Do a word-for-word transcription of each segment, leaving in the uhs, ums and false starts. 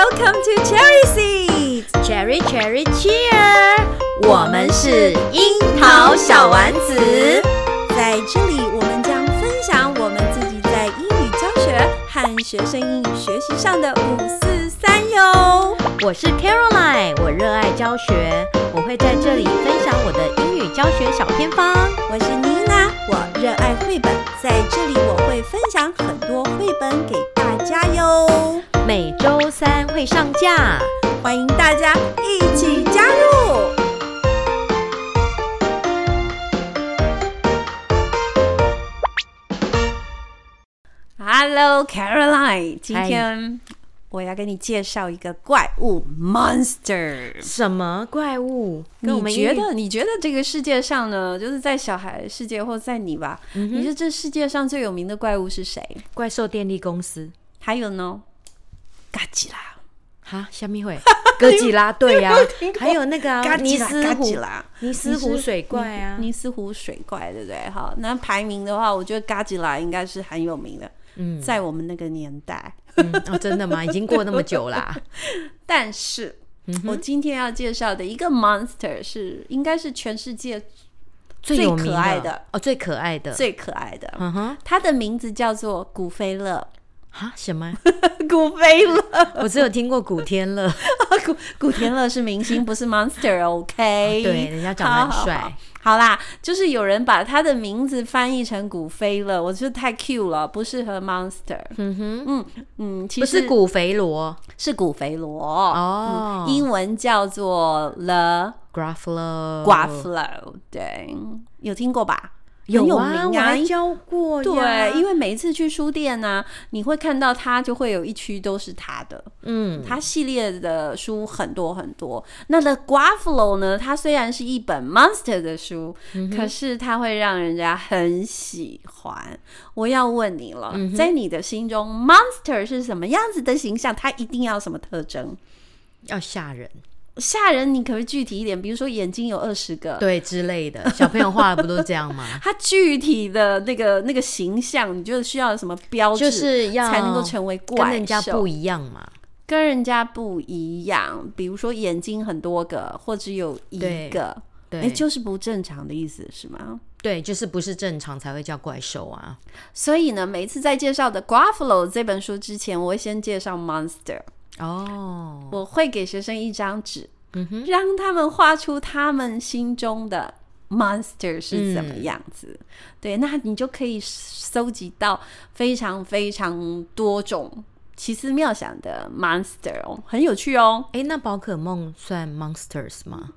Welcome to Cherry Seeds Cherry Cherry Cheer， 我們是櫻桃小丸子。在這裡，我們將分享我們自己在英語教學和學生英語學習上的五四三喲。 我是 Caroline， 我熱愛教學，我會在這裡分享我的英語教學小偏方。 我是妮娜，我熱愛繪本，在這裡我會分享很多繪本給大家喲。 每週三會上架， 歡迎大家一起加入。Hello Caroline， 今天我要跟你介紹一個怪物 Monster。 什麼怪物？ 你覺得？你覺得這個世界上呢，就是在小孩世界或在你吧、嗯？你覺得這世界上最有名的怪物是誰？ 怪獸電力公司。 還有呢？嘎吉拉。 哈，蝦米會？哥吉拉，對呀、啊。還有那個、啊、尼斯湖，尼斯湖水怪啊， 尼斯湖水怪，對不對？好，那排名的話，我覺得嘎吉拉應該是很有名的。嗯，在我們那個年代。 嗯、哦，真的嗎？已經過那麼久啦、啊。 但是、嗯，我今天要介紹的一個 monster 是應該是全世界最可愛的哦，最可愛的， 最可愛的。 嗯哼， 它的名字叫做古飛樂。 哈？什麼？ 古飛樂？ 我只有聽過古天樂。 古古天樂是明星，不是 monster。OK，、哦、 對，人家長得很帥。 好啦，就是有人把他的名字翻譯成古飛樂，我覺得太 cute 了，不適合 monster。嗯哼，嗯嗯，其實不是古肥羅，是古肥羅哦、嗯，英文叫做 The Gruffalo。 Gruffalo， 對，有聽過吧？ 有啊， 很有名啊， 我還教過。 對，因為每一次去書店啊，你會看到它就會有一區都是它的。嗯，它系列的書很多很多。那 The Gruffalo 呢？它雖然是一本 monster 的書、嗯，可是它會讓人家很喜歡。我要問你了，嗯、在你的心中 ，monster 是什麼樣子的形象？它一定要什麼特徵？ 要嚇人。 嚇人，你可不可以具體一點？比如說眼睛有二十個， 對之類的，小朋友畫的不都這樣嗎？ 他具體的那個那個形象，你覺得需要什麼標誌，就是要才能夠成為怪獸？跟人家不一樣嘛？跟人家不一樣，比如說眼睛很多個，或只有一個，對，欸、就是不正常的意思是嗎？ 對，就是不是正常才會叫怪獸啊。 所以呢，每一次在介紹的 Gruffalo 這本書之前，我會先介紹 Monster。哦、oh. ，我會給學生一張紙、嗯，讓他們畫出他們心中的 monster 是怎麼樣子、嗯。對，那你就可以蒐集到非常非常多種奇思妙想的 monster 哦，很有趣哦。 哎，那寶可夢算 monsters 嗎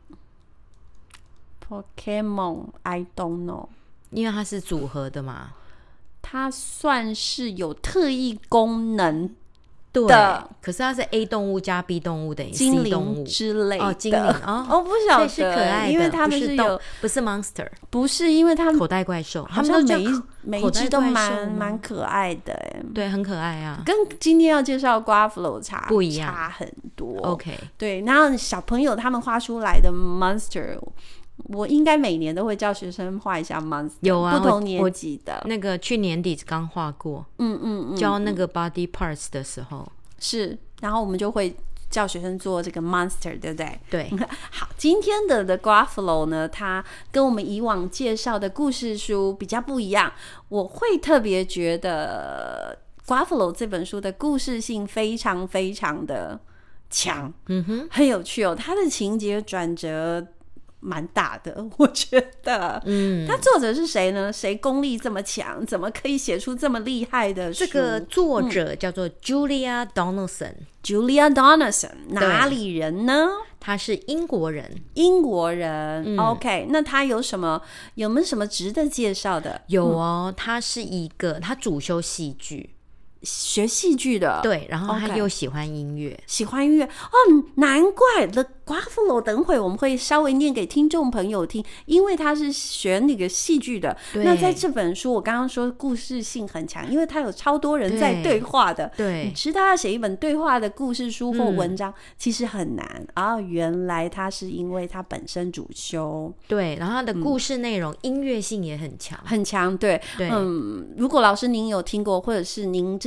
？Pokemon I don't know， 因為它是組合的嘛， 它算是有特異功能。 對，可是它是 A 動物加 B 動物等於 C 動物之類的。 哦，精靈哦， 我不曉得， 是可愛的， 因為他們是有， 不是 monster， 不是因為他們口袋怪獸， 他們每一每一隻都蠻蠻可愛的， 對，很可愛啊， 跟今天要介紹 Gruffalo 差不一樣， 差很多。OK， 對，然後小朋友他們畫出來的 monster。我應該每年都會叫學生畫一下 monster， 有啊，不同年級的。 那個去年底剛畫過，嗯嗯嗯，教那個 body parts 的時候是，然後我們就會叫學生做這個 monster， 對不對？ 對。 好，今天的 The Gruffalo 呢，它跟我們以往介紹的故事書比較不一樣。我會特別覺得 Gruffalo 這本書的故事性非常非常的強，嗯哼，很有趣哦。它的情節轉折蠻大的，我覺得。嗯，他作者是誰呢？誰功力這麼強？怎麼可以寫出這麼厲害的書？ 這個作者叫做 Julia Donaldson。Julia Donaldson 哪裡人呢？ 他是英國人。英國人。 嗯、OK， 那他有什麼？有沒有什麼值得介紹的？ 有哦，他是一個，他主修戲劇。 學戲劇的， 對，然後他又喜歡音樂， okay, 喜歡音樂哦，難怪 The Gruffalo 等會我們會稍微念給聽眾朋友聽，因為他是學那個戲劇的。那在這本書，我剛剛說故事性很強，因為他有超多人在對話的。對，你知道要寫一本對話的故事書或文章，嗯、其實很難啊、哦。原來他是因為他本身主修， 對，然後他的故事內容、嗯、音樂性也很強， 很強。對，對，嗯，如果老師您有聽過，或者是您之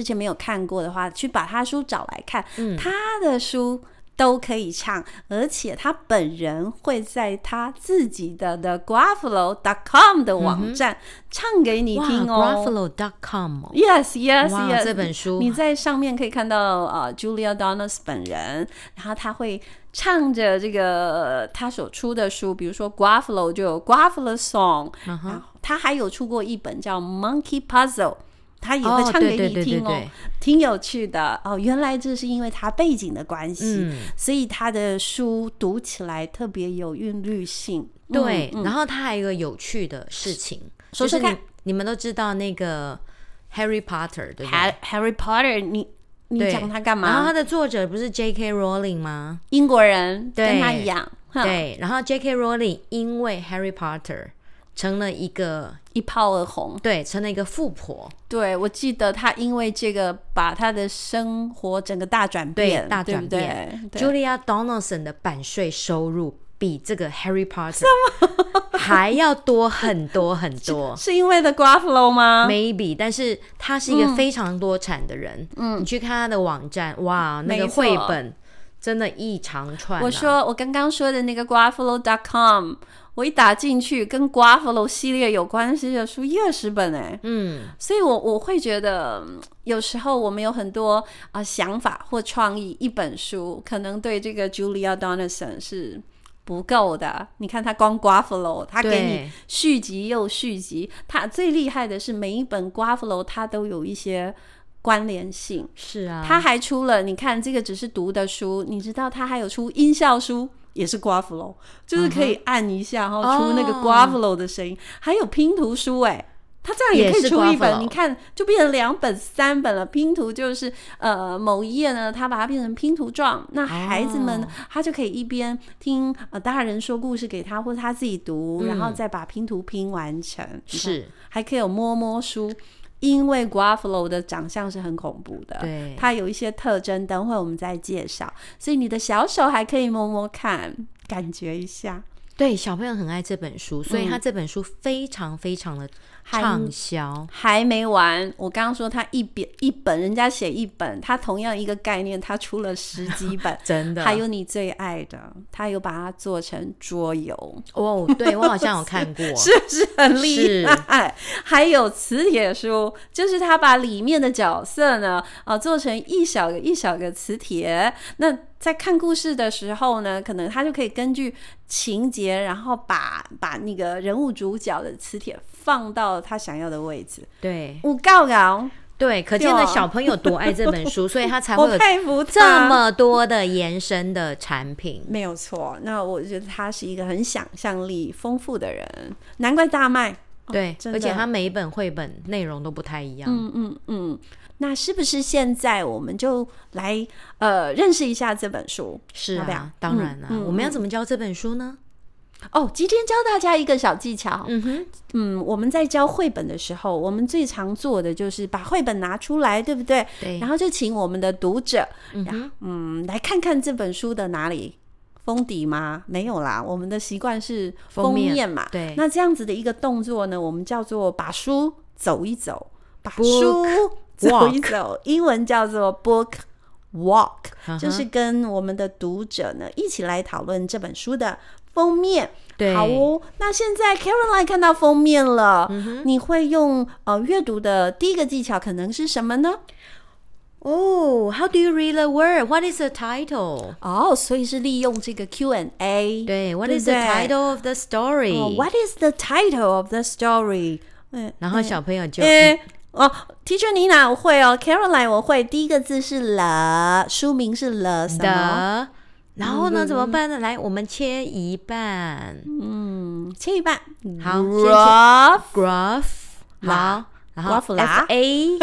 之前沒有看過的話，去把他書找來看， 嗯、 他的書都可以唱，而且他本人會在他自己的 the gruffalo dot com 的網站唱給你聽哦。 gruffalo dot com Yes, yes, yes。 這本書你在上面可以看到呃 Julia Donaldson 本人，然後他會唱着這個他所出的書，比如說 Gruffalo 就有 Gruffalo Song，、uh-huh. 然後他還有出過一本叫 Monkey Puzzle。他也會唱給你聽哦，哦挺有趣的哦。原來這是因為他背景的關係、嗯，所以他的書讀起來特別有韻律性。 對、 嗯嗯， 然後他還有一個有趣的事情， 說說看， 就是、你, 你們都知道那個 Harry Potter 對不對 ？Harry Potter， 你你講他幹嘛？ 然後他的作者不是 J K Rowling 嗎？ 英國人，跟他一樣。 對，然後 J K Rowling 因為 Harry Potter。成了一個一炮而紅， 對，成了一個富婆。 對，我記得他因為這個把他的生活整個大轉變， 對，大轉變。 對 Julia Donaldson 的版稅收入比這個 Harry Potter 還要多很多很多， 是因為 The Gruffalo 嗎 ？Maybe， 但是他是一個非常多產的人。嗯，你去看他的網站，哇，那個繪本真的一長串、啊。 我說我剛剛說的那個 Gruffalo dot com。我一打進去，跟 Gruffalo 系列有關係的書一二十本哎，嗯，所以我我會覺得有時候我們有很多啊、呃、想法或創意，一本書可能對這個 Julia Donaldson 是不夠的。你看他光 Gruffalo， 他給你續集又續集，他最厲害的是每一本 Gruffalo 他都有一些關聯性。 是啊， 他還出了，你看這個只是讀的書，你知道他還有出音效書。也是 Gruffalo， 就是可以按一下，然後出那個 Gruffalo 的聲音，哦，還有拼圖書哎，他這樣也可以出一本，你看就變成兩本、三本了。拼圖就是呃某一頁呢，他把它變成拼圖狀，那孩子們，哦，他就可以一邊聽呃大人說故事給他，或者他自己讀，嗯，然後再把拼圖拼完成。是，還可以有摸摸書。因為 Gruffalo 的長相是很恐怖的，對，它有一些特徵，等會我們再介紹。所以你的小手還可以摸摸看，感覺一下。 對，小朋友很愛這本書，所以他這本書非常非常的暢銷。還, 還沒完，我剛剛說他一本一本，人家寫一本，他同樣一個概念，他出了十幾本，真的。還有你最愛的，他有把它做成桌遊哦，對，我好像有看過， 是不是很厲害？還有磁鐵書，就是他把裡面的角色呢，呃，做成一小個一小個磁鐵，那。在看故事的時候呢，可能他就可以根據情節，然後把把那個人物主角的磁鐵放到他想要的位置。對，有夠高。 對，可見的小朋友多愛這本書，所以他才會有這麼多的延伸的產品。 沒有錯，那我覺得他是一個很想象力豐富的人，難怪大賣。 對，哦，而且他每一本繪本內容都不太一樣。 嗯嗯嗯。那是不是現在我們就來呃認識一下這本書？ 是啊， 要不要？ 當然了，啊嗯，我們要怎麼教這本書呢？ 哦，今天教大家一個小技巧。嗯哼，嗯，我們在教繪本的時候，我們最常做的就是把繪本拿出來，對不對？對。然後就請我們的讀者，嗯嗯，來看看這本書的哪裡封底嗎？沒有啦，我們的習慣是封面嘛。封面，對。那這樣子的一個動作呢，我們叫做把書走一走，把書。走一走，英文叫做 book walk，uh-huh. 就是跟我們的讀者呢一起來討論這本書的封面。對，好哦。那現在 Caroline 看到封面了，嗯、你會用呃閱讀的第一個技巧可能是什麼呢？ 哦、oh, How do you read the word? What is the title? 哦、oh, 所以是利用這個 Q and A。 對 ，What is the title of the story? Oh, What is the title of the story? 嗯，然後小朋友就。 嗯哦、oh, ，Teacher Nina 我會哦 ，Caroline 我會。第一個字是了，書名是了什麼？ 然後呢、嗯、怎麼辦呢？來，我們切一半。 嗯，切一半。 好 ，Gruff Gruff 好，然後 F A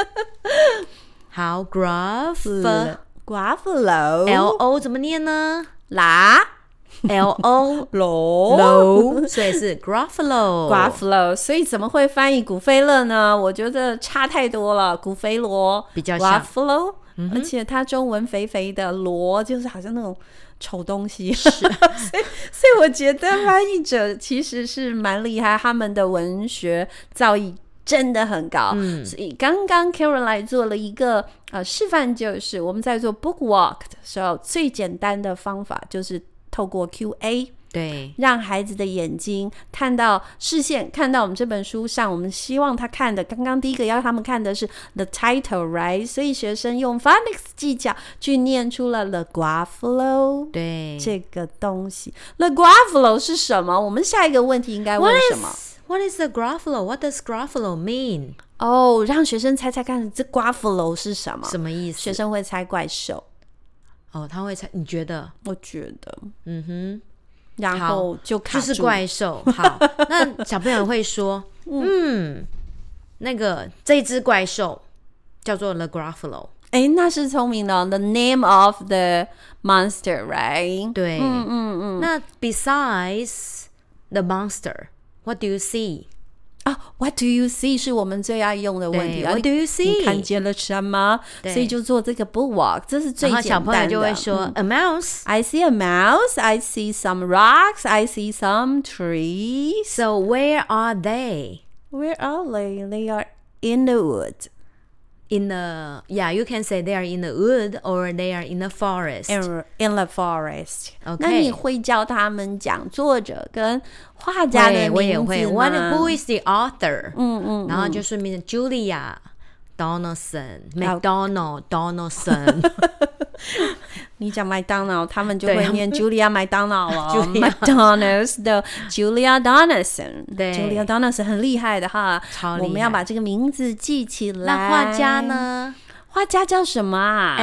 好 Gruff Gruffalo L O 怎麼念呢？ 啦。 L O 羅羅，所以是 Gruffalo Gruffalo， 所以怎麼會翻譯古飛樂呢？我覺得差太多了，古飛羅比較像 Gruffalo，、嗯、而且它中文肥肥的羅就是好像那種醜東西， 是所以所以我覺得翻譯者其實是蠻厲害，他們的文學造詣真的很高。 嗯， 所以剛剛 Caroline 做了一個呃示範，就是我們在做 book walk 的時候，最簡單的方法就是透過 Q A。 對， 讓孩子的眼睛看到視線，看到我們這本書上，我們希望他看的。剛剛第一個要他們看的是 the title, right？ 所以學生用 phonics 技巧去念出了 the Gruffalo， 對， 這個東西。the Gruffalo 是什麼？我們下一個問題應該問什麼 ？What is, what is the Gruffalo? What does Gruffalo mean？ 哦、oh, 讓學生猜猜看，這 Gruffalo 是什麼？ 什麼意思？ 學生會猜怪獸。 哦，他會猜？你覺得？ 我覺得， 嗯哼。 然後就卡住， 就是怪獸。好，那小朋友會說，嗯，那個這隻怪獸叫做 the Gruffalo。 哎，那是聰明的 ，the name of the monster, right？ 對， 嗯嗯嗯。 那 besides the monster, what do you see？ 啊、oh, ，What do you see 是我們最愛用的問題。 What do you see？ 你看見了什麼？所以就做這個 book walk， 這是最簡單的。 然後小朋友就會說、嗯、，A mouse. I see a mouse. I see some rocks. I see some trees. So where are they? Where are they? They are in the wood. In the yeah, you can say they are in the wood or they are in the forest. In, in the forest. Okay. 那你會教他們講作者跟畫家的名字嗎？ 我也會。What, who is the author? 嗯嗯， 然後就順便 Julia Donaldson, McDonald Donaldson. 你講麥當勞，他們就會念 Julia 麥當勞了。 McDonald's 的 Julia Donaldson， 對 ，Julia Donaldson 很厲害的哈， 超厲害。 我們要把這個名字記起來。 那畫家呢？ 畫家叫什麼啊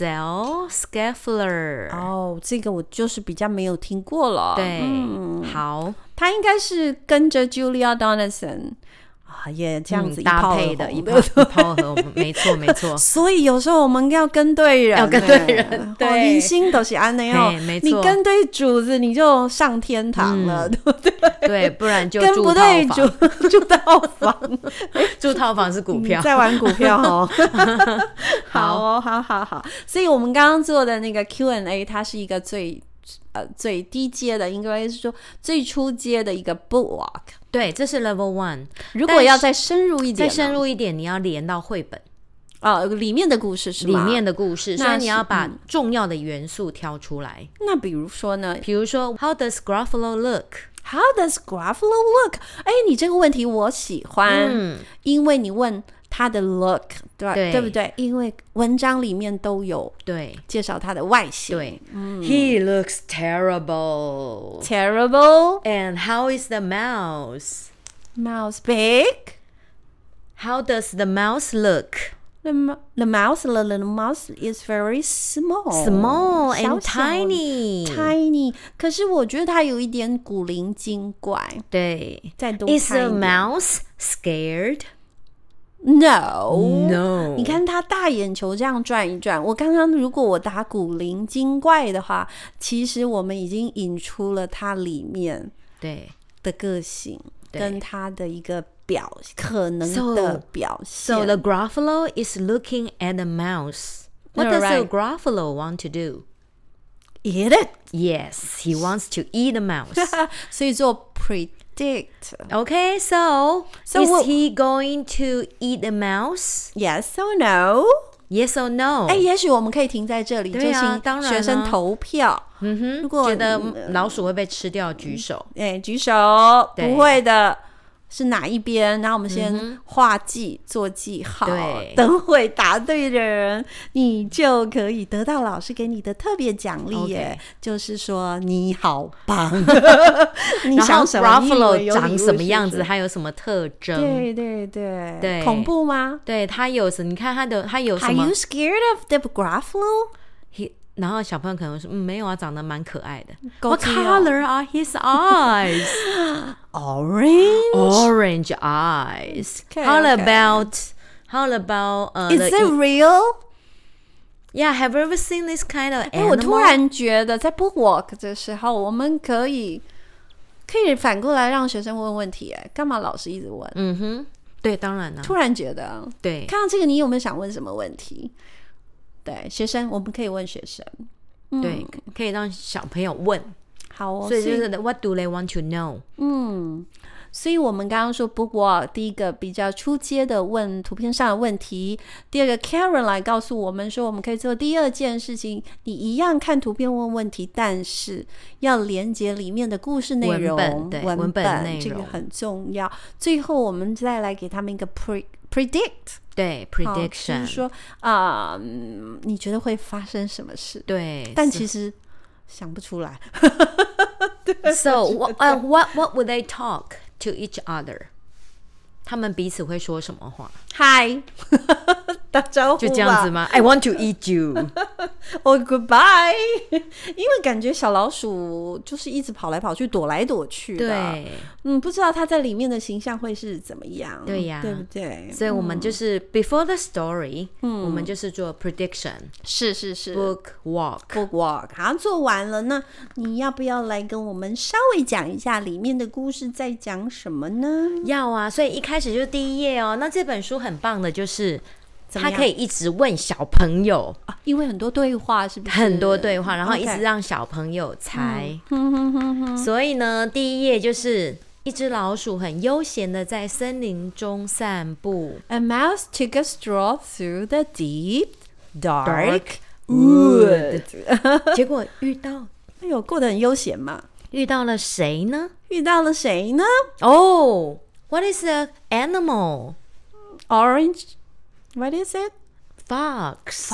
？Axel Scheffler。 哦，這個我就是比較沒有聽過了。 對， 嗯、 好， 他應該是跟着 Julia Donaldson。啊，也這樣子一搭配的，一炮一炮合，沒錯沒錯。 所以有時候我們要跟對人， 要跟對人，對， 人心都是安內哦， 沒錯。 你跟對主子，你就上天堂了，對不對？ 對，不然就跟不對主住套房， 住套房是股票， 在玩股票哦。好哦，好好好。所以我們剛剛做的那個 Q and A， 它是一個最呃最低階的，應該是說最初階的一個 book walk。 對，這是 level one。 如果要再深入一點， 再深入一點，你要連到繪本哦，裡面的故事是嗎？ 裡面的故事，所以你要把重要的元素挑出來。 嗯、那比如說呢？ 比如說 ，How does Gruffalo look? How does Gruffalo look? 哎，你這個問題我喜歡，嗯、因為你問他的 look， 對, 對, 對不對？因為文章裡面都有對介紹他的外形。 對、嗯、，He looks terrible. Terrible. And how is the mouse? Mouse big. How does the mouse look? The, the mouse, the little mouse is very small. Small and 小小 tiny. Tiny. 可是我覺得它有一點古靈精怪。 對， 再多 Is the mouse scared? No, no. 你看他大眼球這樣轉一轉。我剛剛如果我打古靈精怪的話，其實我們已經引出了它裡面對的個性跟他的一個表可能的表現。 So, so the Gruffalo is looking at the mouse. What does the Gruffalo want to do? Eat it. Yes, he wants to eat the mouse. 所以做 predict. Okay, so, so is what, he going to eat the mouse? Yes or no? Yes or no? 哎，也許我們可以停在這裡， 對啊， 就請學生投票。 嗯哼，如果覺得老鼠會被吃掉，舉手。 哎，舉手，不會的。是哪一邊？然後我們先畫記、嗯、做記號，對，等會答對的人，你就可以得到老師給你的特別獎勵耶， okay. 就是說你好棒。你想什麼？ 然後 Gruffalo 長什麼樣子？它有什麼特徵？ 對對對對， 恐怖嗎？ 對，它有什？你看它的，它有什麼 ？Are you scared of the Gruffalo? He, 然後小朋友可能說，嗯，沒有啊，長得蠻可愛的。What color are his eyes? Orange. Orange eyes. Okay, how okay. about how about uh? Is it real? Yeah, have you ever seen this kind of animal? 哎，我突然覺得在 book walk 的時候，我們可以可以反過來讓學生問問題。哎，幹嘛老師一直問？ 嗯哼，對，當然了。 突然覺得， 對， 看到這個，你有沒有想問什麼問題？對，學生，我們可以問學生，嗯、 對，可以讓小朋友問。 好哦， 所以就是 What do they want to know？ 嗯， 所以我們剛剛說 book walk， 第一個比較初階的問圖片上的問題，第二個 Karen 來告訴我們說，我們可以做第二件事情，你一樣看圖片問問題，但是要連接裡面的故事內容， 文本，對，文本內容， 這個很重要。最後我們再來給他們一個 pre predict， 對 prediction， 就是說啊、呃，你覺得會發生什麼事？ 對， 但其實想不出來。 So what, uh, what what would they talk to each other？ 他們彼此會說什麼話？ 嗨，打招呼吧， 就這樣子嗎？ I want to eat you 哦、oh, goodbye 因為感覺小老鼠就是一直跑來跑去，躲來躲去的。 對， 嗯，不知道它在裡面的形象會是怎麼樣。 對呀， 對不對？ 所以我們就是 before the story， 嗯， 我們就是做 prediction， 是是是 book walk book walk。好，做完了，那你要不要來跟我們稍微講一下裡面的故事在講什麼呢？ 要啊，所以一開始就是第一頁哦。那這本書很棒的就是他可以一直問小朋友、 啊、因為很多對話，是不是很多對話，然後一直讓小朋友猜、okay. 所以呢，第一頁就是一隻老鼠很悠閒的在森林中散步。 A mouse took a stroll through the deep dark wood 結果遇到哎呦，過得很悠閒嘛。 遇到了誰呢？ 遇到了誰呢？ 哦、oh, What is the animal? Orange What is it? Fox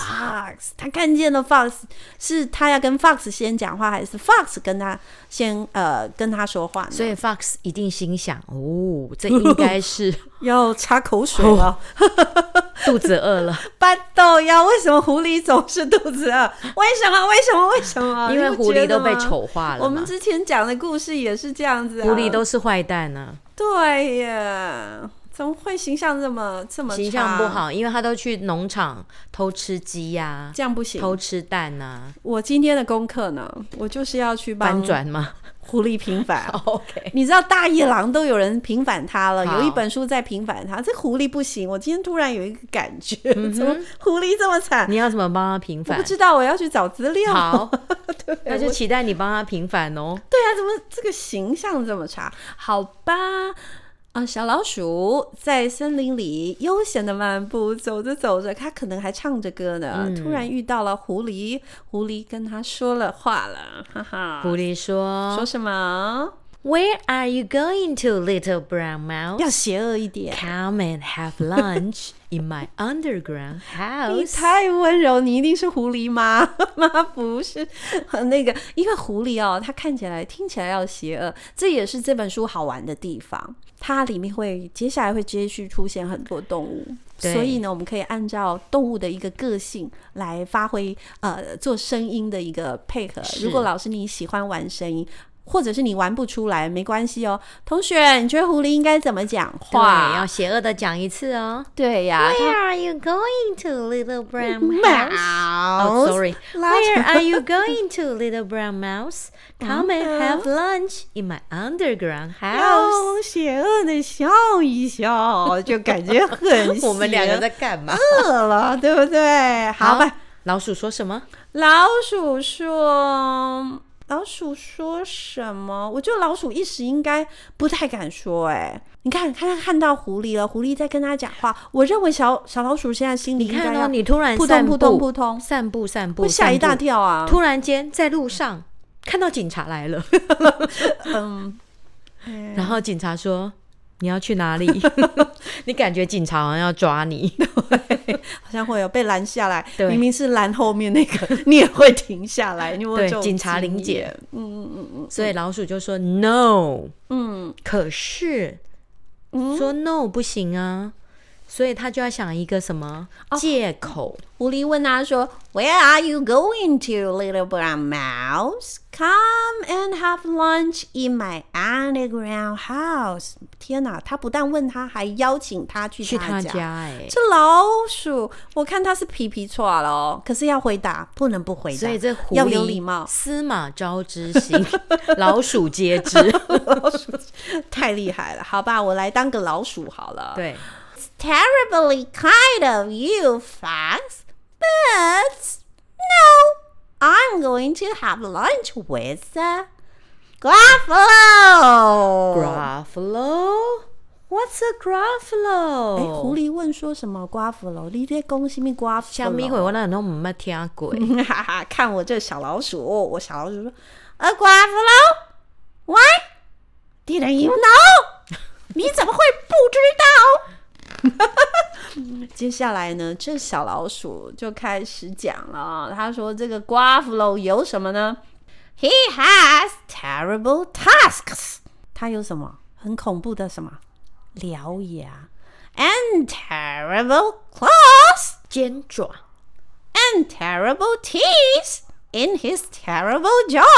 Fox 他看見了 Fox， 是他要跟 Fox 先講話，還是 Fox 跟他先呃跟他說話呢？ 所以 Fox 一定心想，哦，這應該是要擦口水了、哦、 肚子餓了。 巴豆呀，為什麼狐狸總是肚子餓？為什麼為什麼為什麼？ 因為狐狸都被醜化了嘛。 我們之前講的故事也是這樣子、啊、 狐狸都是壞蛋啊。 對呀，怎麼會形象這麼這麼差？形象不好，因為他都去農場偷吃雞呀、啊， 這樣不行。 偷吃蛋啊。 我今天的功課呢，我就是要去幫翻轉嗎？ 狐狸平反。 OK， 你知道大野狼都有人平反他了，有一本書在平反他，這狐狸不行。我今天突然有一個感覺，嗯、怎麼狐狸這麼慘？ 你要怎麼幫他平反？ 我不知道，我要去找資料。 好，對，那就期待你幫他平反哦。 對啊，怎麼這個形象這麼差？好吧。啊，小老鼠在森林裡悠閒的漫步，走着走着，它可能還唱着歌呢、嗯。突然遇到了狐狸，狐狸跟他說了話了，哈哈。狐狸說：“說什麼 ？Where are you going to, little brown mouse？” 要邪惡一點。 Come and have lunch in my underground house。 你太溫柔，你一定是狐狸嗎？嗎？不是，那個，因為狐狸哦，它看起來、聽起來要邪惡，這也是這本書好玩的地方。它裡面會接下來會接續出現很多動物，所以呢，我們可以按照動物的一個個性來發揮，呃，做聲音的一個配合。如果老師你喜歡玩聲音，或者是你玩不出來，沒關係哦。同學，你覺得狐狸應該怎麼講話？ 對，要邪惡的講一次哦。 對呀。 Where are you going to, little brown mouse? Oh, sorry. Where are you going to, little brown mouse? Come and have lunch in my underground house. 要邪惡的笑一笑，就感覺很邪。 我們兩個在幹嘛？ 餓了，對不對？好吧。 好，老鼠說什麼？ 老鼠說。老鼠說什麼？我覺得老鼠一時應該不太敢說。哎，你看，看看到狐狸了，狐狸在跟他講話。我認為小小老鼠現在心裡應該要， 你看哦，你突然撲通撲通撲通散步散步， 會嚇一大跳啊！ 突然間在路上看到警察來了， 嗯， 然後警察說：“你要去哪裡？”你感覺警察好像要抓你， 對，好像會有被攔下來。明明是攔後面那個，你也會停下來。你有沒有這種經驗？對，警察臨檢。嗯嗯嗯嗯。所以老鼠就說 no， 嗯，可是、嗯、說 no 不行啊，所以他就要想一個什麼借口。哦，狐狸問他說 Where are you going to, little brown mouse? Come and have lunch in my underground house. 天哪，他不但問他，還邀請他去他家。去他家欸，這老鼠，我看他是皮皮剉了哦。可是要回答，不能不回答。所以這狐狸要有禮貌，司馬昭之心，老鼠皆知。老鼠太厲害了，好吧，我來當個老鼠好了。對。Terribly kind of you, Fox, but no, I'm going to have lunch with the Gruffalo。Gruffalo？What's a Gruffalo？ 哎，狐狸問說什麼 Gruffalo？ 你在講什麼 Gruffalo？ 小米會我那都沒聽過。 哈哈，看我這小老鼠，我小老鼠說 A Gruffalo？Why？ Didn't you know？ 你怎麼會不知道？接下來呢，這小老鼠就開始講了。他說：“這個 Gruffalo 有什麼呢 ？He has terrible tusks。他有什麼很恐怖的什麼獠牙 ？And terrible claws， 尖爪 ，and terrible teeth in his terrible jaws 。”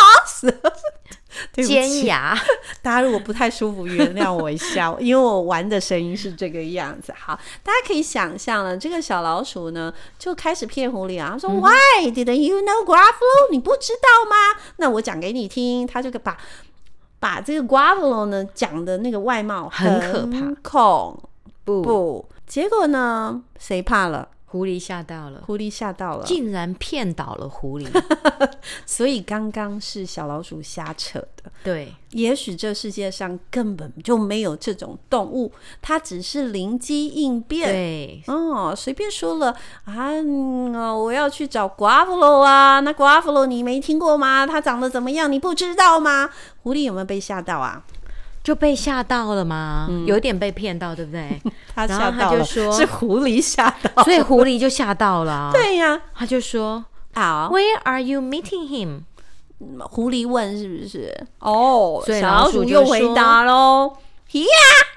尖牙， 大家如果不太舒服，原諒我一下，因為我玩的聲音是這個樣子。好，大家可以想象了，這個小老鼠呢就開始騙狐狸啊，他說、嗯、Why didn't you know Gruffalo？ 你不知道嗎？那我講給你聽。他就把把這個 Gruffalo 呢講的那個外貌很可怕，恐怖。不，結果呢，誰怕了？ 狐狸嚇到了， 狐狸嚇到了， 竟然騙倒了狐狸。 所以剛剛是小老鼠瞎扯的。 對，也許這世界上根本就沒有這種動物，它只是靈機應變。 對， 哦，隨便說了啊、嗯，我要去找 Gruffalo 啊，那 Gruffalo 你沒聽過嗎？它長得怎麼樣？你不知道嗎？狐狸有沒有被嚇到啊？ 就被嚇到了嗎？嗯、有點被騙到，對不對？ 他嚇到了，然後他就說是狐狸嚇到， 所以狐狸就嚇到了。 對呀、啊， 他就說啊 ，Where are you meeting him？ 狐狸問是不是？哦， 所以小老鼠又回答嘍 ，Yeah,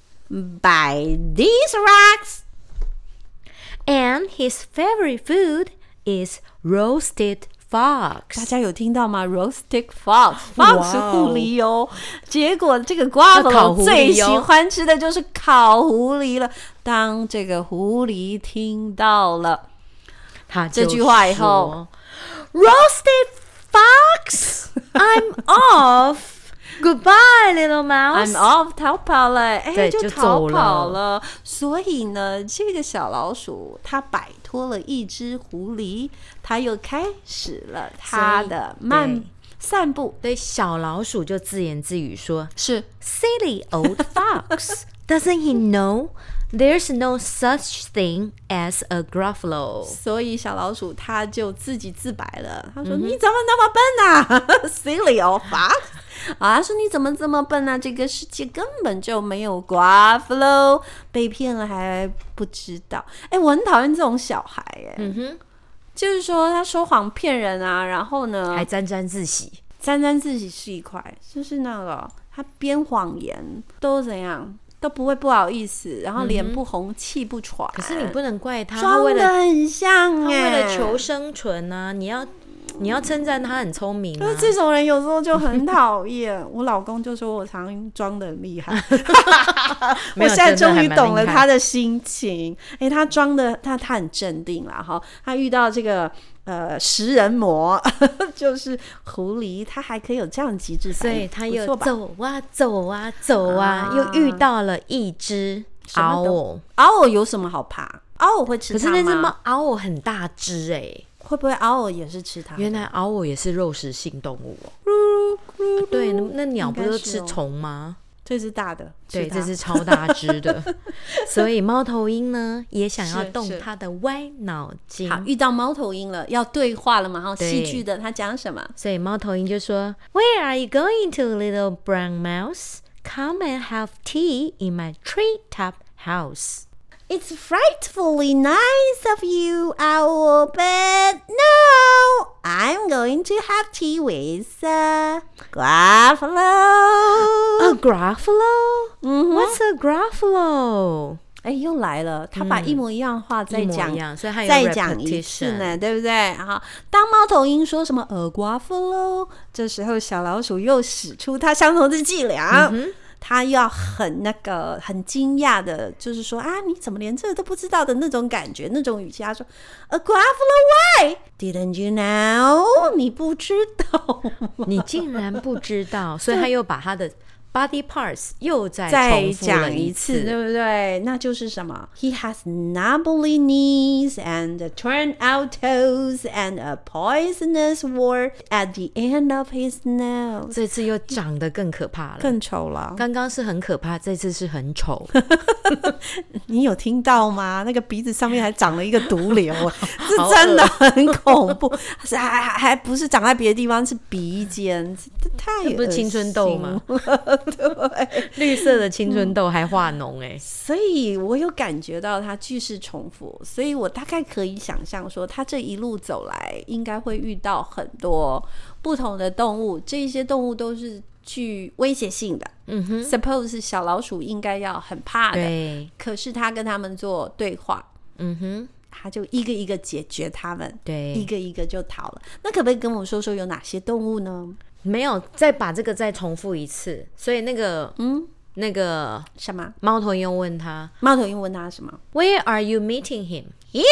by these rocks, and his favorite food is roasted fox。 大家有聽到嗎 ？Roasted fox， fox 是狐狸哦。結果這個 Gruffalo 最喜歡吃的就是烤狐狸了。當這個狐狸聽到了他這句話以後 ，Roasted fox, I'm off. Goodbye, little mouse. I'm off， 逃跑了，哎， 就逃跑了。所以呢，這個小老鼠它擺脫了一隻狐狸，它又開始了它的慢散步。 對，小老鼠就自言自語說：“ 是 Silly old fox, doesn't he know there's no such thing as a Gruffalo？” 所以小老鼠它就自己自白了，他說：“嗯、你怎麼那麼笨啊 ，Silly old fox？” 啊，他說你怎麼這麼笨啊？這個世界根本就沒有 Gruffalo， 被騙了還不知道。哎，我很討厭這種小孩，哎，嗯哼，就是說他說謊騙人啊，然後呢還沾沾自喜， 沾沾自喜是一塊，就是那個他編謊言都怎樣都不會不好意思，然後臉不紅、嗯、氣不喘。 可是你不能怪他， 裝得很像， 他為了求生存啊，你要。你要稱讚他很聰明、啊， 就是這種人有時候就很討厭。我老公就說我常常裝得很厲害，我現在終於懂了他的心情。哎、欸，他裝的他他很鎮定啦哈。他遇到這個呃食人魔，就是狐狸，他還可以有這樣極致反應， 所以他又走啊走啊走啊，啊又遇到了一隻獒偶。 獒偶有什麼好怕？獒偶會吃它嗎？ 可是那隻貓獒偶很大隻哎、欸。 會不會獒偶也是吃它？ 原來獒偶也是肉食性動物哦。啊、對，那鳥不是吃蟲嗎？ 這是大的， 對，這是超大隻的。所以貓頭鷹呢，也想要動它的歪腦筋。 好，遇到貓頭鷹了，要對話了嘛？然後戲劇的，他講什麼？ 所以貓頭鷹就說 ：“Where are you going to, little brown mouse? Come and have tea in my treetop house.” It's frightfully nice of you, Owl, but no, I'm going to have tea with a Gruffalo. A Gruffalo? Mm-hmm. What's a Gruffalo? 哎，又來了，他把一模一樣的話再講、 嗯，所以他有再講一次呢，對不對？好，當貓頭鷹說什麼 a Gruffalo， 這時候小老鼠又使出它相同的伎倆。嗯，他要很那個很驚訝的，就是說啊，你怎麼連這個都不知道的那種感覺，那種語氣。他說 A Gruffalo, why? Didn't you know? 你不知道， 你竟然不知道，所以他又把他的 body parts 又再再重複了一次， 對不對？那就是什麼 ？He has knobbly knees and turned out toes and a poisonous wart at the end of his nose。 這次又長得更可怕了， 更醜了。剛剛是很可怕，這次是很醜。 你有聽到嗎？那個鼻子上面還長了一個毒瘤，是真的很恐怖。還還還不是長在別的地方，是鼻尖，太惡心了。這不是青春痘嗎？對， 綠色的青春痘還化膿哎、欸， 所以我有感覺到它句式重複，所以我大概可以想象說，它這一路走來應該會遇到很多不同的動物，這些動物都是具威脅性的。嗯哼 ，suppose 小老鼠應該要很怕的，對，可是他跟他們做對話，嗯哼，他就一個一個解決他們，對，一個一個就逃了。那可不可以跟我說說有哪些動物呢？ 沒有，再把這個再重複一次。所以那個，嗯，那個什麼？ 貓頭鷹問他， 貓頭鷹問他什麼 ？Where are you meeting him? Yeah,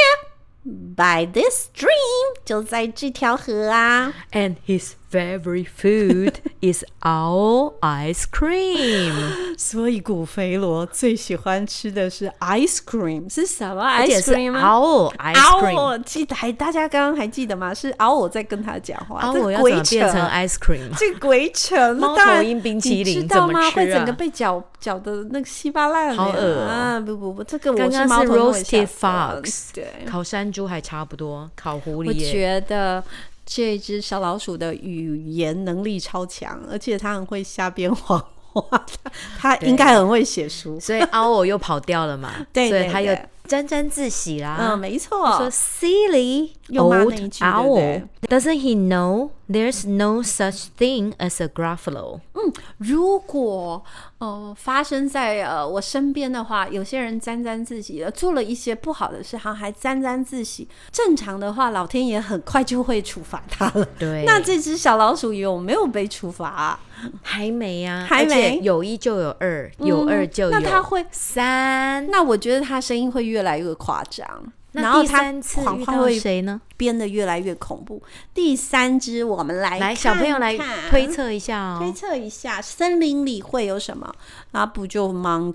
by this stream， 就在這條河啊。 And his favorite food is owl ice cream。 所以古肥羅最喜歡吃的是 ice cream， 是什麼 ice cream 嗎？ owl ice cream。 記得還大家剛剛還記得嗎？是 owl 在跟他講話。 owl 要怎麼變成 ice cream？ 這鬼扯！ 貓頭鷹冰淇淋怎麼吃啊？ 會整個被攪攪的那個稀巴爛的。 好惡啊！不不不，這個我剛剛是 roasted fox， 對， 烤山豬還差不多，烤狐狸。 我覺得這只小老鼠的語言能力超強，而且它很會瞎編謊話，它應該很會寫書， 所以 owl 又跑掉了嘛，對，所以他又沾沾自喜啦。 嗯，沒錯。 說 silly old owl， doesn't he know there's no such thing as a Gruffalo？ 嗯，如果呃發生在呃我身邊的話，有些人沾沾自喜了，做了一些不好的事，好像還沾沾自喜。正常的話，老天爺很快就會處罰他了。對，那這只小老鼠有沒有被處罰啊？ 還沒啊， 還沒。 有一就有二，有二就有、嗯、那他會三。那我覺得他聲音會越來越誇張。 那第三次遇到誰呢？ 編得越來越恐怖。第三隻，我們來看看來小朋友來推測一下哦， 推測一下森林裡會有什麼？那不就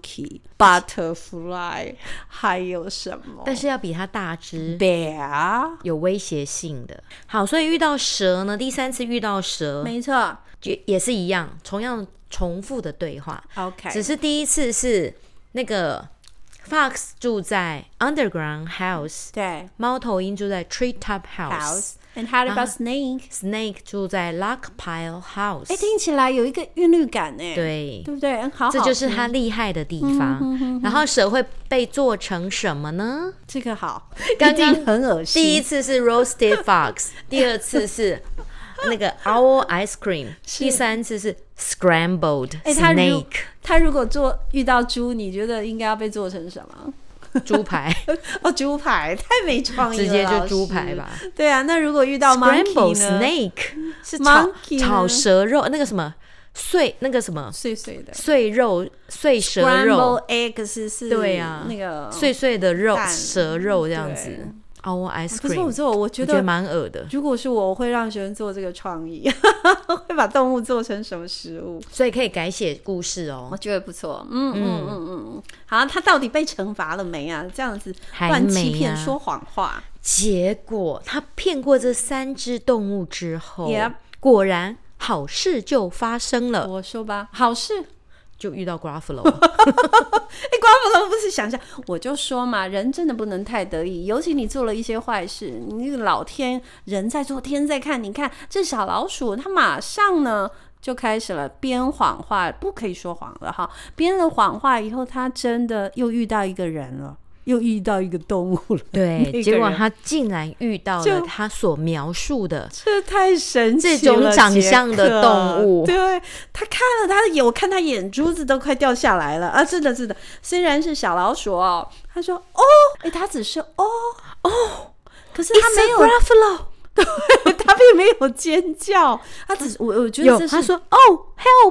monkey、butterfly， 還有什麼？ 但是要比它大隻 ，bear， 有威脅性的。好，所以遇到蛇呢？第三次遇到蛇， 沒錯， 也也是一樣，同樣重複的對話。 OK， 只是第一次是那個。Fox 住在 underground house， 對，貓頭鷹住在 treetop house。And how about snake？ Snake 住在 log pile house。 哎，聽起來有一個韻律感呢， 對， 對不對？好好， 這就是它厲害的地方。嗯、哼哼哼，然後蛇會被做成什麼呢？ 這個好， 剛剛很噁心。 第一次是 roasted fox， 第二次是那個 owl ice cream， 第三次是 scrambled snake。 他如果做遇到豬，你覺得應該要被做成什麼？ 豬排哦，豬排太沒創意了， 直接就豬排吧。 對啊，那如果遇到 monkey 呢？ snake 是炒炒蛇肉，那個什麼碎，那個什麼碎碎的碎肉，碎蛇肉。 Scrambled eggs 是對啊， 那個碎碎的肉，蛇肉這樣子。Owl ice cream， 可是我做，我覺得蠻惡的。 如果是我，我會讓學生做這個創意，會把動物做成什麼食物， 所以可以改寫故事哦。 我覺得不錯，嗯嗯嗯嗯嗯。好，他到底被懲罰了沒啊？這樣子亂欺騙、說謊話， 結果他騙過這三隻動物之後， Yep. 果然好事就發生了。 我說吧，好事。 就遇到 Gruffalo， 哎、欸、，Gruffalo 不是想想，我就說嘛，人真的不能太得意，尤其你做了一些壞事，你那個老天人在做，天在看。你看這小老鼠，它馬上呢就開始了編謊話，不可以說謊了哈。編了謊話以後，它真的又遇到一個人了。又遇到一個動物了， 對，結果他竟然遇到了他所描述的， 這太神奇了， 這種長相的動物。 對，他看了他的眼，我看他眼珠子都快掉下來了啊！真的，真的，雖然是小老鼠哦，他說哦，哎，他只是哦哦，可是他沒有 Gruffalo， 對，他並沒有尖叫，他只我我覺得這是他說哦 help。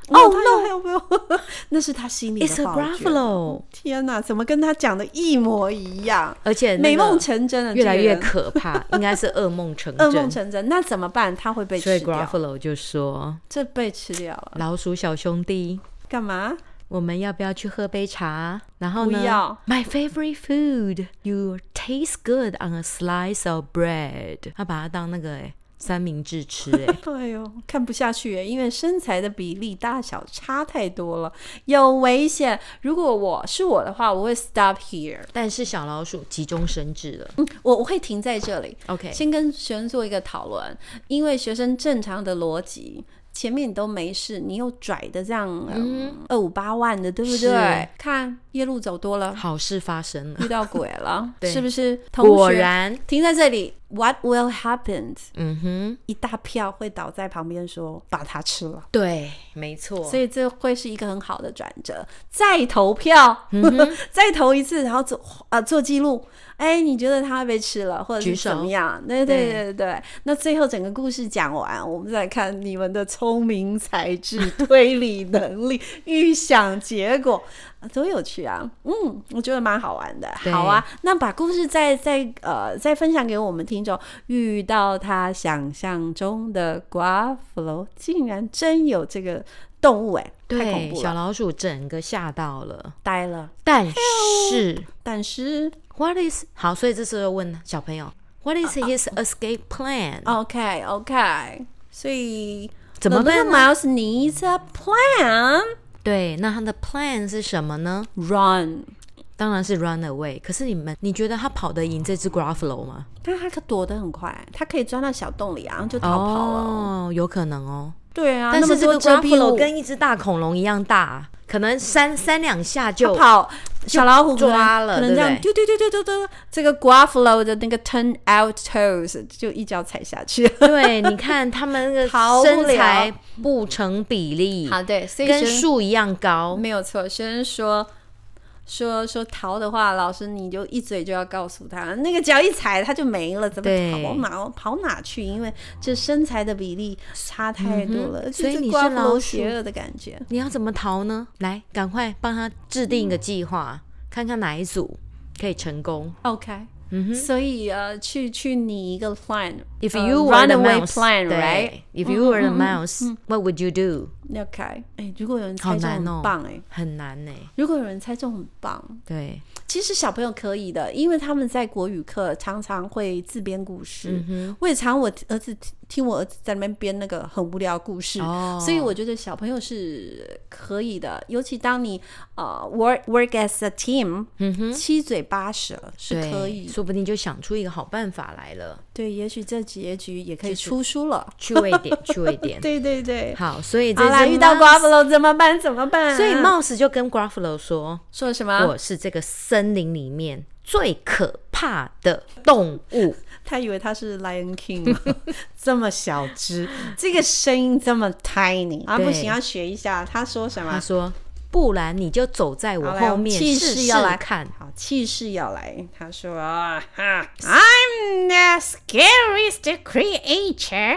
Oh no！ 沒有沒有，那是他心裡的 It's a Gruffalo。 天哪，怎麼跟他講的一模一樣？ 而且美夢成真了， 越來越可怕，應該是噩夢成真。 噩夢成真，那怎麼辦？他會被吃掉。 所以 Gruffalo 就說：“這被吃掉了。” 老鼠小兄弟， 幹嘛？ 我們要不要去喝杯茶？然後呢？ 不要。 My favorite food, you taste good on a slice of bread。他把它當那個哎。三明治吃哎、欸， 哎呦，看不下去哎，因為身材的比例大小差太多了，有危險。如果我是我的話，我會 stop here。 但是小老鼠急中生智了， 嗯，我我會停在這裡。 OK， 先跟學生做一個討論，因為學生正常的邏輯。前面你都沒事，你又拽的這樣，嗯，二五八萬的，對不對？看夜路走多了， 好事發生了， 遇到鬼了， 對， 是不是？同學果然停在這裡 ，What will happen？ 嗯哼， 一大票會倒在旁邊說把它吃了， 對，沒錯。 所以這會是一個很好的轉折。再投票，嗯、再投一次，然後做呃做記錄。哎，你覺得他會被吃了，或者是怎麼樣？對對對對對。那最後整個故事講完，我們再看你們的聰明才智、推理能力、預想結果，多有趣啊！嗯，我覺得蠻好玩的。好啊，那把故事再再呃再分享給我們聽眾。遇到他想象中的 Gruffalo， 竟然真有這個動物哎，太恐怖了！ 小老鼠整個嚇到了， 呆了。 但是， 但是。 What is 好，所以這時候問小朋友 What is his escape plan? OK OK， 所以怎麼辦呢？ The little mouse needs a plan。對， 那他的 plan 是什麼呢 ？Run， 當然是 run away。可是你們，你覺得他跑得贏這隻 Gruffalo 嗎？ 但他可躲得很快，他可以鑽到小洞裡啊，然後就逃跑了。 哦，有可能哦。 對啊， 但是這個 Gruffalo 跟一隻大恐龍一樣大，可能三三兩下就跑。小老虎抓了， 可能這樣丟丟丟丟丟丟，這個 Gruffalo 的那個 turn out toes 就一腳踩下去。 對，你看他們那個身材不成比例， 好，對，所以跟樹一樣高， 沒有錯。學生說說說逃的話，老師你就一嘴就要告訴他，那個腳一踩他就沒了，怎麼跑哪跑哪去？因為這身材的比例差太多了，嗯、 所以你是老鼠邪惡的感覺。 你要怎麼逃呢？來，趕快幫他制定一個計劃，嗯、看看哪一組可以成功。 OK。Mm-hmm. 所以呃，去去擬一個 plan。If you were the runaway mouse, plan, right? If you were the mouse, what would you do? OK， 哎，如果有人猜中很棒哎， 很難哎。 如果有人猜中很棒， 對， 其實小朋友可以的，因為他們在國語課常常會自編故事。嗯、我也常我兒子聽我兒子在那邊編那個很無聊的故事，哦、所以我覺得小朋友是可以的。尤其當你呃 work work as a team，、嗯、七嘴八舌是可以， 說不定就想出一個好辦法來了。 對，也許這結局也可以出書了， 趣味點，趣味點。 對對對， 好，所以這來遇到 Gruffalo 怎麼辦？怎麼辦？ 所以 Mouse 就跟 Gruffalo 說：“ 說什麼？ 我是這個森林裡面最可怕的動物。” 他以為他是 Lion King， 這麼小只，這個聲音這麼 tiny 啊，不行，要學一下。他說什麼？ 他說：“不然你就走在我後面， 氣勢要來看。 好，氣勢要來。”他說：“啊，I'm the scariest creature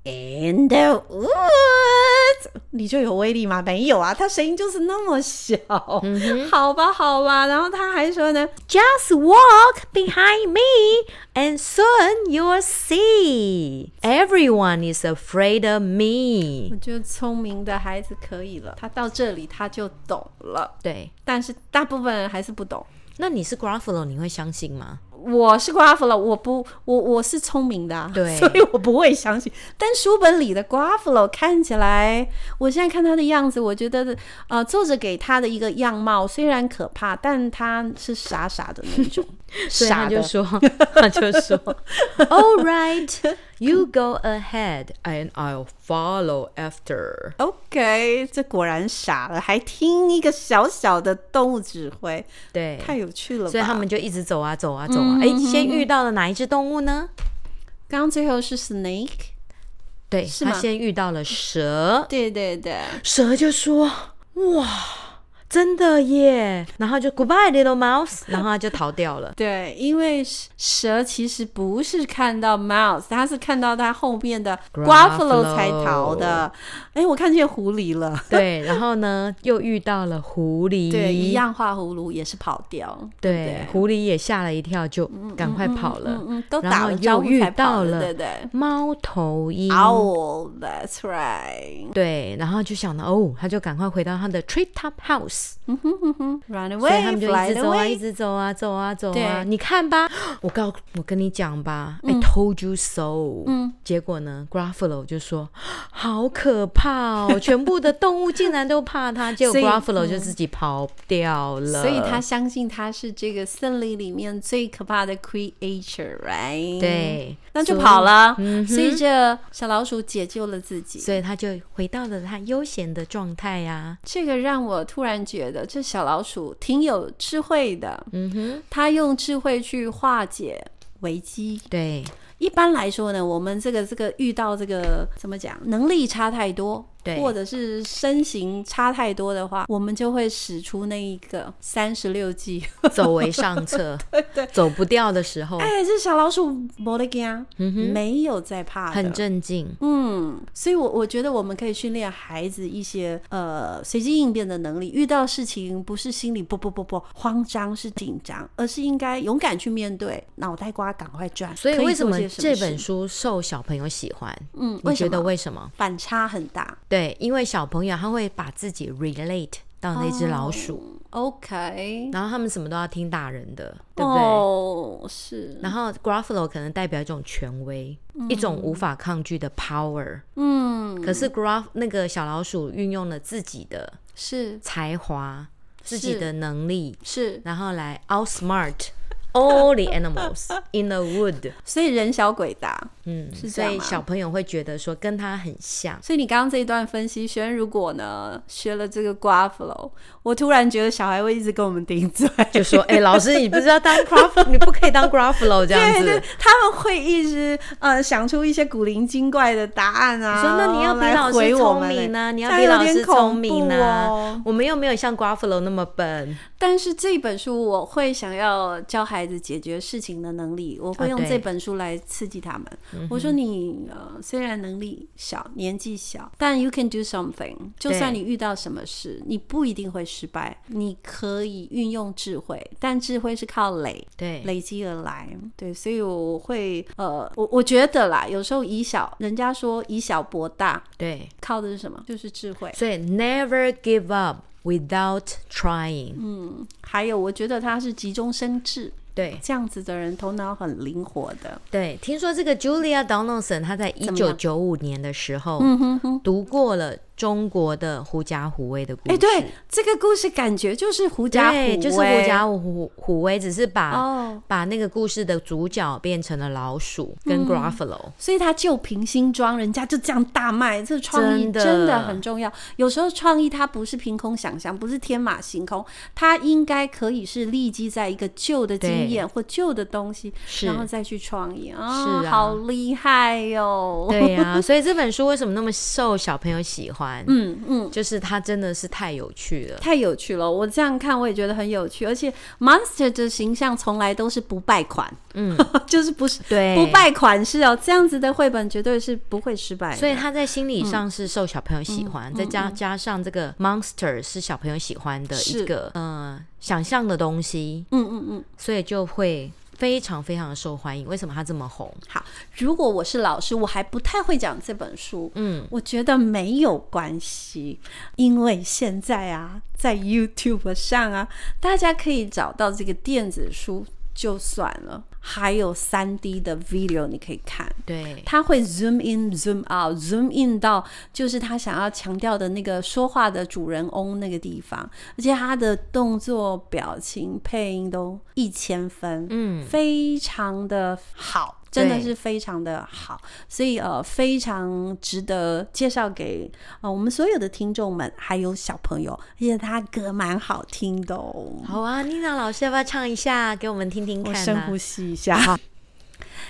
in the woods。”你就有威力嗎？沒有啊，他聲音就是那麼小。嗯、好吧，好吧。然後他還說呢 ，Just walk behind me, and soon you'll see. Everyone is afraid of me. 我覺得聰明的孩子可以了，他到這裡他就懂了。 對， 但是大部分人還是不懂。 那你是 Gruffalo， 你會相信嗎？ 我是 Gruffalo， 我不，我我是聰明的、啊， 對， 所以我不會相信。但書本裡的 Gruffalo 看起來，我現在看他的樣子，我覺得，呃，作者給他的一個樣貌雖然可怕，但他是傻傻的那種。 所以他就說，他就說 ，All right, you go ahead, and I'll follow after. OK， 這果然傻了，還聽一個小小的動物指揮， 對， 太有趣了吧。 所以他們就一直走啊走啊走啊。哎、嗯，先遇到了哪一隻動物呢？ 剛剛最後是 snake， 對，是他先遇到了蛇。 對對對， 蛇就說：“哇。” 真的耶，然後就 Goodbye little mouse， 然後他就逃掉了。 對，因為蛇其實不是看到 mouse， 它是看到它後面的 Gruffalo 才逃的。哎，我看見狐狸了。 對，然後呢，又遇到了狐狸， 對，一樣畫葫蘆也是跑掉。 對， 對對， 狐狸也嚇了一跳，就趕快跑了。嗯嗯嗯嗯、都打了招呼才跑了，對對。 貓頭鷹 Owl, that's right。 對，然後就想到哦，他就趕快回到他的 treetop house。嗯哼哼哼 ，run away， 所以他們就一直走啊，一直走啊，走啊，走啊。你看吧，我告我跟你講吧、嗯、，I told you so。嗯，結果呢 ，Gruffalo 就說好可怕哦，全部的動物竟然都怕他，結果 Gruffalo 就自己跑掉了。 所以他相信他是這個森林裡面最可怕的 creature，right？ 對， 那就跑了。嗯，所以這小老鼠解救了自己， 所以他就回到了他悠閒的狀態啊。 這個讓我突然覺得這小老鼠挺有智慧的。嗯哼，他用智慧去化解危機。 對， 一般來說呢，我們這個這個遇到這個怎麼講，能力差太多，對，或者是身形差太多的話，我們就會使出那一個三十六計， 走為上策。對對，走不掉的時候， 哎，這小老鼠沒得驚，嗯哼，沒有在怕的， 很鎮靜。 嗯，所以我我覺得我們可以訓練孩子一些呃隨機應變的能力。遇到事情不是心裡不不不不慌張是緊張，而是應該勇敢去面對，腦袋瓜趕快轉。 所以為什麼這本書受小朋友喜歡？嗯，你覺得為什麼？ 反差很大。 對，因為小朋友他會把自己 relate 到那隻老鼠。 Oh, OK， 然後他們什麼都要聽大人的，對不對？ 哦，是。 然後 Gruffalo 可能代表一種權威，嗯、一種無法抗拒的 power。嗯。可是 Gruff 那個小老鼠運用了自己的是才華、自己的能力，是，然後來 outsmart all the animals in the wood。所以人小鬼大， 嗯，是这樣嗎？所以小朋友會覺得說跟他很像。 所以你剛剛這一段分析，學如果呢學了這個 Gruffalo， 我突然覺得小孩會一直跟我們頂嘴， 就說：“哎、欸，老師，你不知道當 Gruffalo， 你不可以當 Gruffalo 這樣子。”對對， 他們會一直呃想出一些古靈精怪的答案啊。 說：“那你要比老師聰明啊，你要比老師聰明啊。哦”我們又沒有像 Gruffalo 那麼笨。 但是這本書我會想要教孩子解決事情的能力，我會用這本書來刺激他們。啊、我說你呃雖然能力小，年紀小，但 you can do something。就算你遇到什麼事，你不一定會失敗，你可以運用智慧，但智慧是靠累，對，累積而來。對，所以我會呃，我我覺得啦，有時候以小，人家說以小博大，對，靠的是什麼？就是智慧。 所以 never give up。Without trying， 嗯，還有我覺得他是急中生智， 對， 這樣子的人頭腦很靈活的。 對，聽說這個 Julia Donaldson 他在一九九五年的時候讀過了中國的狐假虎威的故事。哎，對， 這個故事感覺就是狐假虎威， 對，就是狐假虎虎威，只是把、哦、把那個故事的主角變成了老鼠跟 Gruffalo，嗯、所以他就憑新裝，人家就這樣大賣。這創意真的很重要。有時候創意它不是憑空想象，不是天馬行空，它應該可以是立基在一個舊的經驗或舊的東西，然後再去創意啊、哦，是啊，好厲害喲、哦！ 對呀、啊，所以這本書為什麼那麼受小朋友喜歡？嗯嗯，就是它真的是太有趣了， 太有趣了。我這樣看我也覺得很有趣，而且 Monster 的形象從來都是不敗款，嗯，就是不是對不敗款式哦，這樣子的繪本絕對是不會失敗的。 所以他在心理上是受小朋友喜歡，嗯、再加加上這個 Monster 是小朋友喜歡的一個呃想象的東西，嗯嗯嗯，所以就會非常非常的受歡迎。為什麼它這麼紅？ 好，如果我是老師，我還不太會講這本書，嗯，我覺得沒有關係，因為現在啊，在 YouTube 上啊，大家可以找到這個電子書就算了，還有 三 D 的 video 你可以看，對，他會 zoom in zoom out zoom in 到就是他想要強調的那個說話的主人翁那個地方，而且他的動作表情配音都一千分，嗯，非常的好，真的是非常的好，所以呃非常值得介紹給呃我們所有的聽眾們還有小朋友，而且他歌蠻好聽的哦。 好啊，妮娜老師要不要唱一下給我們聽聽看呢？ 我深呼吸一下。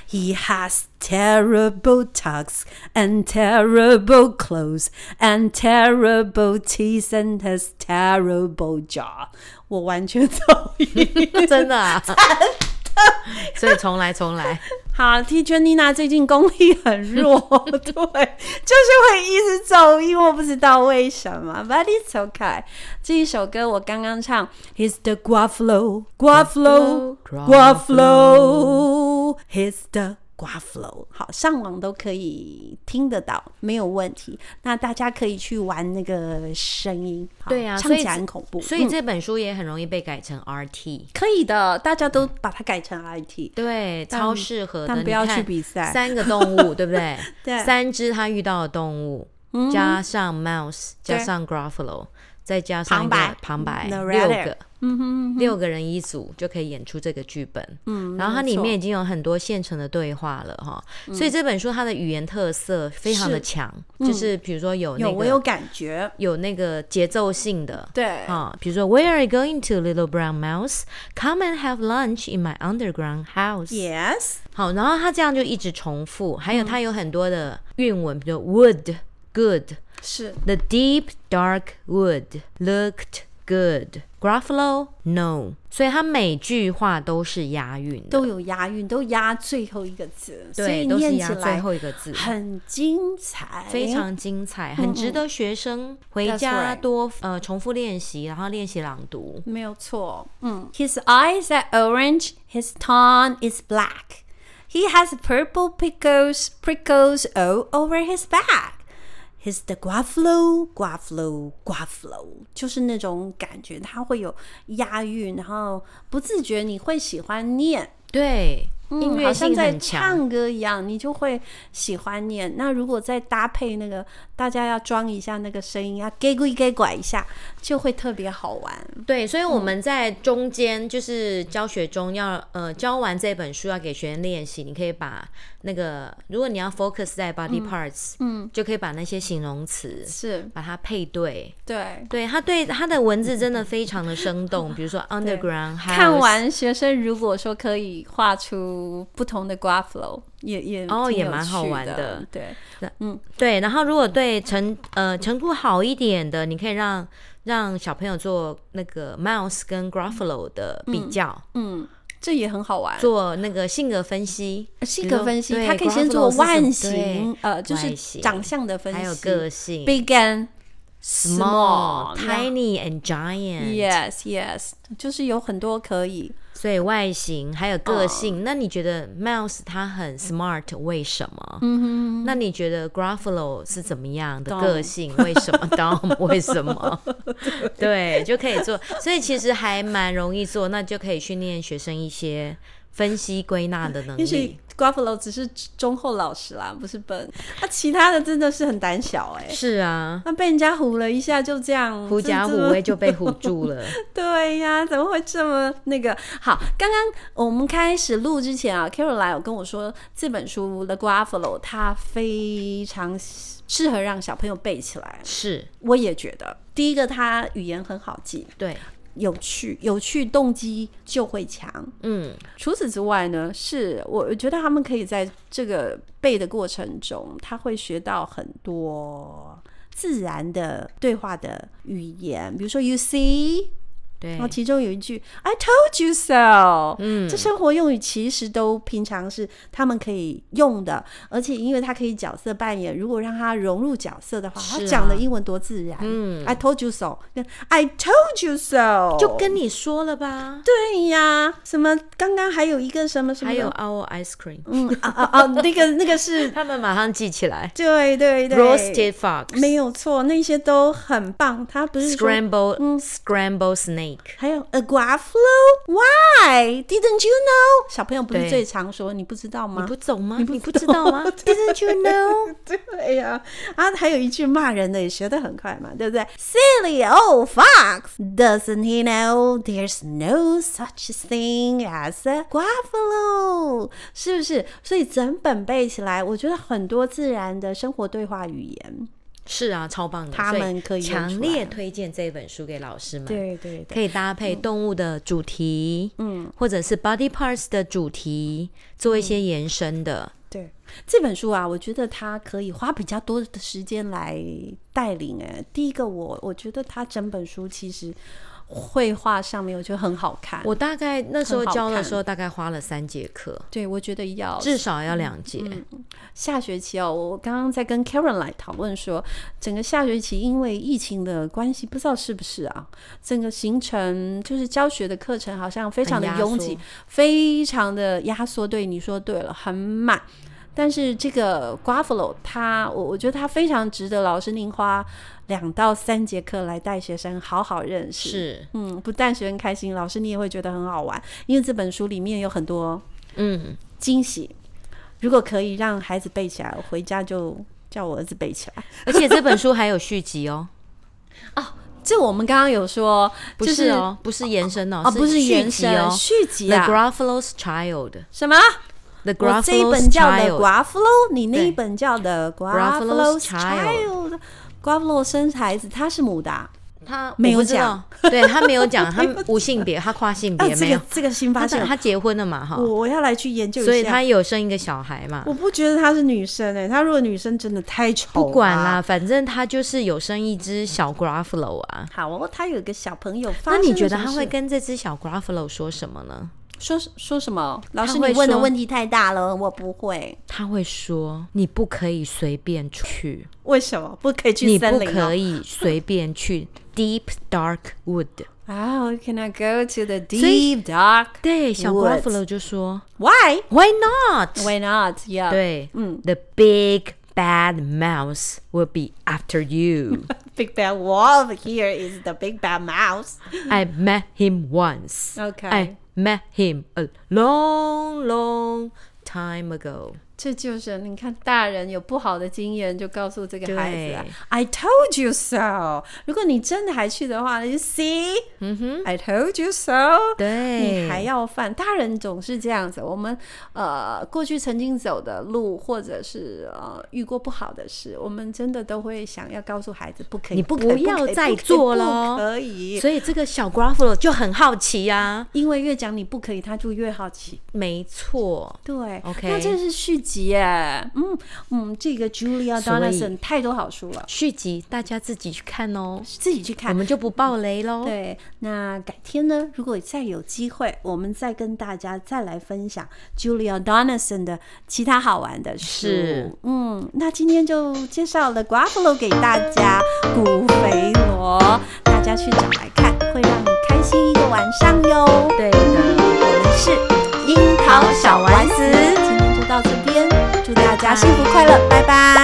He has terrible tucks and terrible clothes and terrible teeth and has terrible jaw. 我完全同意。 真的啊？所以重來重來。 好 Teacher Nina 最近功力很弱，对，就是會一直走音，我不知道為什麼 But it's okay。 這一首歌我剛剛唱 He's the Gruffalo Gruffalo Gruffalo He's the Gruffalo， 好，上網都可以聽得到，沒有問題。那大家可以去玩那個聲音， 對啊， 唱起來很恐怖。 所以，所以這本書也很容易被改成 R T，、嗯、 可以的，大家都把它改成 R T， 對，超適合的。 但不要去比賽。 三個動物，對不對？ 對， 三隻他遇到的動物，嗯、加上 mouse， 加上 Gruffalo， 再加上一個旁白，旁白六個。嗯哼嗯哼，六個人一組就可以演出這個劇本，嗯，然後它裡面已經有很多現成的對話了哈、嗯，所以這本書它的語言特色非常的強、嗯，就是比如說有那個有我有感覺， 有那個節奏性的， 對啊，比如說 Where are you going to, little brown mouse? Come and have lunch in my underground house. Yes， 好，然後它這樣就一直重複，還有它有很多的韻文，比如 wood, good， 是 the deep dark wood looked good. Gruffalo no， 所以它每句話都是押韻的， 都有押韻，都押最後一個字， 對， 所以都是念起來最後一個字， 很精彩， 非常精彩，很值得學生回家多、right. 呃重複練習，然後練習朗讀， 沒有錯。嗯 ，His eyes are orange, his tongue is black. He has purple prickles, prickles all over his back.He's the Gruffalo, Gruffalo, Gruffalo， 就是那種感覺，它會有押韻，然後不自覺你會喜歡念， 對， 嗯、 音樂性很強，好像在唱歌一樣，你就會喜歡念。那如果再搭配那個，大家要裝一下那個聲音，要給鬼給拐一下，就會特別好玩。 對，所以我們在中間就是教學中要呃教完這本書要給學生練習，你可以把那個如果你要 focus 在 body parts， 嗯，嗯就可以把那些形容詞是把它配對， 對對，他對他的文字真的非常的生動，比如說 underground house。 看完學生如果說可以畫出不同的 Gruffalo， 也也哦也蠻好玩的， 對， 嗯對，然後如果對程呃程度好一點的，你可以讓讓小朋友做那個 mouse 跟 Gruffalo 的比較，嗯。嗯這也很好玩， 做那個性格分析， 性格分析，他可以先做外形，呃，就是長相的分析， 還有個性 ，big and small, tiny and giant，yes yes， 就是有很多可以。 所以外形還有個性，哦、那你覺得 Mouse 它很 smart 為什麼？嗯哼，那你覺得 Gruffalo 是怎麼樣的個性？為什麼 ？Dom 為什麼？對，就可以做。所以其實還蠻容易做，那就可以訓練學生一些分析歸納的能力。 Gruffalo 只是忠厚老實啦，不是笨。他其他的真的是很膽小哎、欸。 是啊， 他被人家唬了一下，就這樣狐假虎威就被唬住了。 對呀、啊，怎麼會這麼那個？好，剛剛我們開始錄之前啊 ，Caroline 有跟我說這本書 The Gruffalo 它非常適合讓小朋友背起來。是，我也覺得。第一個，它語言很好記。對。有趣，有趣動機就會強。嗯，除此之外呢，是我覺得他們可以在這個背的過程中，他會學到很多自然的對話的語言，比如說 you see。對，然後其中有一句 I told you so， 嗯，這生活用語其實都平常是他們可以用的，而且因為他可以角色扮演，如果讓他融入角色的話，啊、他講的英文多自然。嗯 I told you so， I told you so， 就跟你說了吧。 對呀，什麼剛剛還有一個什麼什麼， 還有 our ice cream， 嗯啊啊啊，那個那個是他們馬上記起來。 對對對 ，roasted fox， 沒有錯，那些都很棒。他不是說 scramble， 嗯 scramble snake。 還有 a Gruffalo? Why? Didn't you know? 小朋友不是最常說你不知道嗎？ 你不懂嗎？你不，你不知道嗎？Didn't you know? 對呀、啊，啊，還有一句罵人的也學得很快嘛，對不對 ？Silly old fox! Doesn't he know there's no such thing as a Gruffalo? 是不是？所以整本背起來，我覺得很多自然的生活對話語言。 是啊，超棒的， 他們可以強烈推薦這本書給老師們。 對對對， 可以搭配動物的主題，嗯，或者是 body parts 的主題，做一些延伸的。 嗯、對，這本書啊，我覺得它可以花比較多的時間來帶領。哎，第一個我，我我覺得它整本書其實繪畫上面我覺得很好看。 我大概那時候教的時候，大概花了三節課。 對，我覺得要至少要兩節。 嗯嗯、下學期哦，我剛剛在跟 Karen 來討論說，整個下學期因為疫情的關係，不知道是不是啊，整個行程就是教學的課程好像非常的擁擠，非常的壓縮。對，你說對了，很滿。但是這個 Gruffalo 他我我覺得他非常值得老師您花兩到三節課來帶學生好好認識。 是， 嗯，不但學生開心，老師你也會覺得很好玩，因為這本書裡面有很多嗯驚喜。如果可以讓孩子背起來，我回家就叫我兒子背起來。 而且這本書還有續集哦。 哦，這我們剛剛有說， 不是哦，不是延伸哦， 哦，不是延伸哦， 續集啊。 The Gruffalo's Child 什麼？ The Gruffalo's Child， 我這一本叫的 Gruffalo， 你那一本叫的 Gruffalo's Child。Gruffalo 生孩子，他是母的、啊， 他沒有講， 對他沒有講，他無性別，他跨性別、啊、沒有。 這個新發現， 他結婚了嘛？哈， 我要來去研究一下。 所以他有生一個小孩嘛？ 我不覺得他是女生哎、欸，他如果女生真的太醜了。 不管啦，反正他就是有生一隻小 Gruffalo 啊。 好哦，他有一個小朋友。 那你覺得他會跟這隻小 Gruffalo 說什麼呢？ 說說什麼？老師，你問的問題太大了，我不會。 他會說：“你不可以隨便去。” 為什麼不可以去森林、哦？ 你不可以隨便去 deep dark wood。 Oh, can I go to the deep dark? 對，小 Gruffalo 就說 ：“Why? Why not? Why not? Yeah. 對，嗯 ，The big bad mouse will be after you. Big bad wolf here is the big bad mouse. I met him once. Okay. I met him a long, long time ago. 這就是你看，大人有不好的經驗，就告訴這個孩子啊 I told you so. 如果你真的還去的話，你就 see、嗯、I told you so. 對， 你還要犯。大人總是這樣子。我們呃過去曾經走的路，或者是呃遇過不好的事，我們真的都會想要告訴孩子不可以， 你不要再做了， 不可以。 所以這個小 Gruffalo 就很好奇啊， 因為越講你不可以，他就越好奇。 沒錯， 對 ，OK。 那這是續集耶，嗯嗯，這個 Julia Donaldson 太多好書了。 續集大家自己去看哦， 自己去看， 我們就不爆雷咯。 對，那改天呢，如果再有機會，我們再跟大家再來分享 Julia Donaldson 的其他好玩的書。 是， 嗯，那今天就介紹了 Gruffalo 給大家，古肥羅，大家去找來看，會讓你開心一個晚上喲。 對的， 我們是櫻桃小丸子，今天就到這邊，祝大家幸福快樂，拜拜。